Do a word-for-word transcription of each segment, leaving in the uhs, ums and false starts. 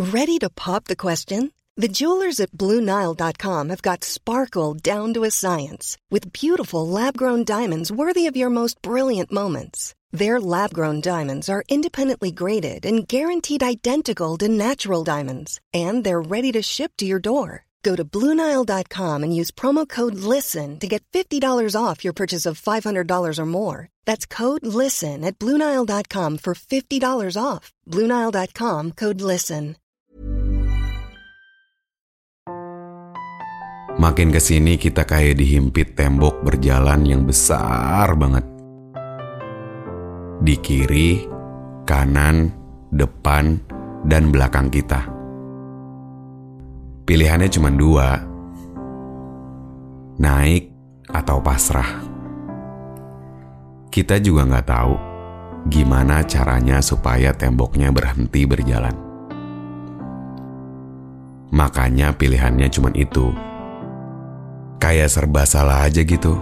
Ready to pop the question? The jewelers at Blue Nile dot com have got sparkle down to a science with beautiful lab-grown diamonds worthy of your most brilliant moments. Their lab-grown diamonds are independently graded and guaranteed identical to natural diamonds, and they're ready to ship to your door. Go to Blue Nile dot com and use promo code LISTEN to get fifty dollars off your purchase of five hundred dollars or more. That's code LISTEN at Blue Nile dot com for fifty dollars off. Blue Nile dot com, code LISTEN. Makin kesini kita kayak dihimpit tembok berjalan yang besar banget. Di kiri, kanan, depan, dan belakang kita. Pilihannya cuma dua, naik atau pasrah. Kita juga nggak tahu gimana caranya supaya temboknya berhenti berjalan. Makanya pilihannya cuma itu. Kayak serba salah aja gitu.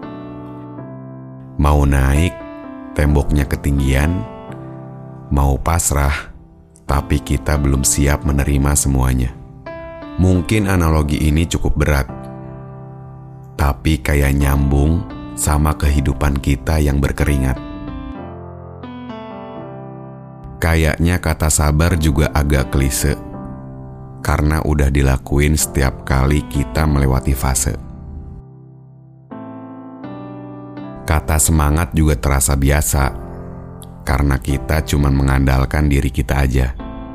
Mau naik, temboknya ketinggian. Mau pasrah, tapi kita belum siap menerima semuanya. Mungkin analogi ini cukup berat, tapi kayak nyambung sama kehidupan kita yang berkeringat. Kayaknya kata sabar juga agak klise, karena udah dilakuin setiap kali kita melewati fase. Kata semangat juga terasa biasa, karena kita cuma mengandalkan diri kita aja.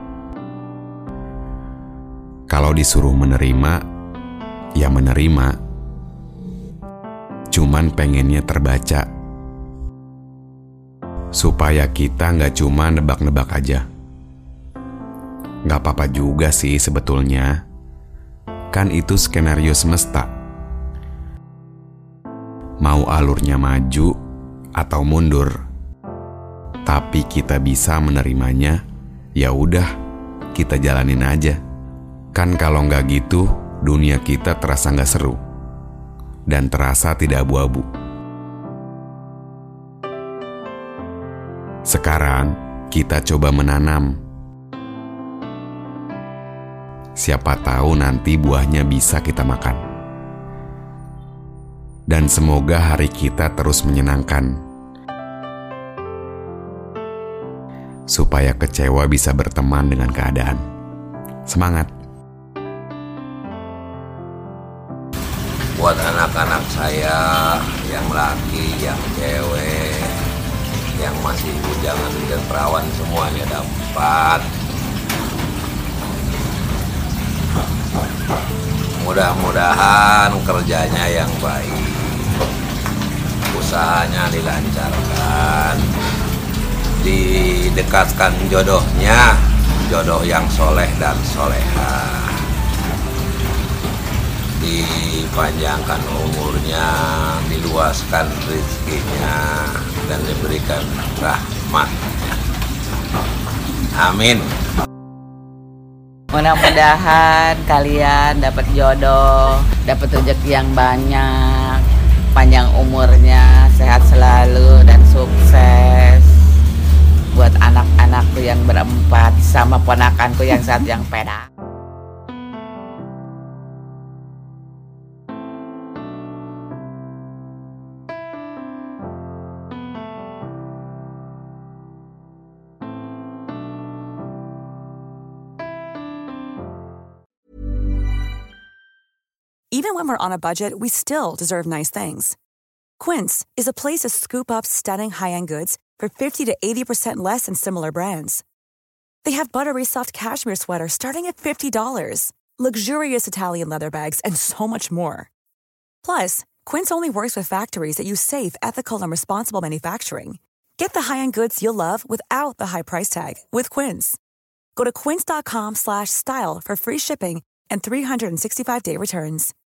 Kalau disuruh menerima, ya menerima. Cuman pengennya terbaca. Supaya kita gak cuma nebak-nebak aja. Gak apa-apa juga sih sebetulnya. Kan itu skenario semesta. Mau alurnya maju atau mundur. Tapi kita bisa menerimanya, ya udah, kita jalanin aja. Kan kalau nggak gitu, dunia kita terasa nggak seru dan terasa tidak abu-abu. Sekarang kita coba menanam. Siapa tahu nanti buahnya bisa kita makan. Dan semoga hari kita terus menyenangkan. Supaya kecewa bisa berteman dengan keadaan. Semangat! Buat anak-anak saya yang laki, yang cewek, yang masih bujangan dan perawan semuanya dapat. Mudah-mudahan kerjanya yang baik, usahanya dilancarkan, didekatkan jodohnya, jodoh yang soleh dan solehah. Dipanjangkan umurnya, diluaskan rezekinya, dan diberikan rahmatnya. Amin. Mudah-mudahan kalian dapat jodoh, dapat rezeki yang banyak, panjang umurnya, sehat selalu, dan sukses. Buat anak-anakku yang berempat, sama ponakanku yang satu yang perak. Even when we're on a budget, we still deserve nice things. Quince is a place to scoop up stunning high-end goods for fifty to eighty percent less than similar brands. They have buttery soft cashmere sweaters starting at fifty dollars, luxurious Italian leather bags, and so much more. Plus, Quince only works with factories that use safe, ethical, and responsible manufacturing. Get the high-end goods you'll love without the high price tag with Quince. Go to quince dot com slash style for free shipping and three sixty-five day returns.